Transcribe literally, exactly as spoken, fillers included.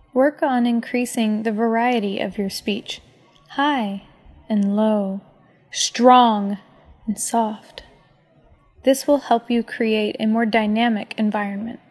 Work on increasing the variety of your speech, high and low, strong and soft. This will help you create a more dynamic environment.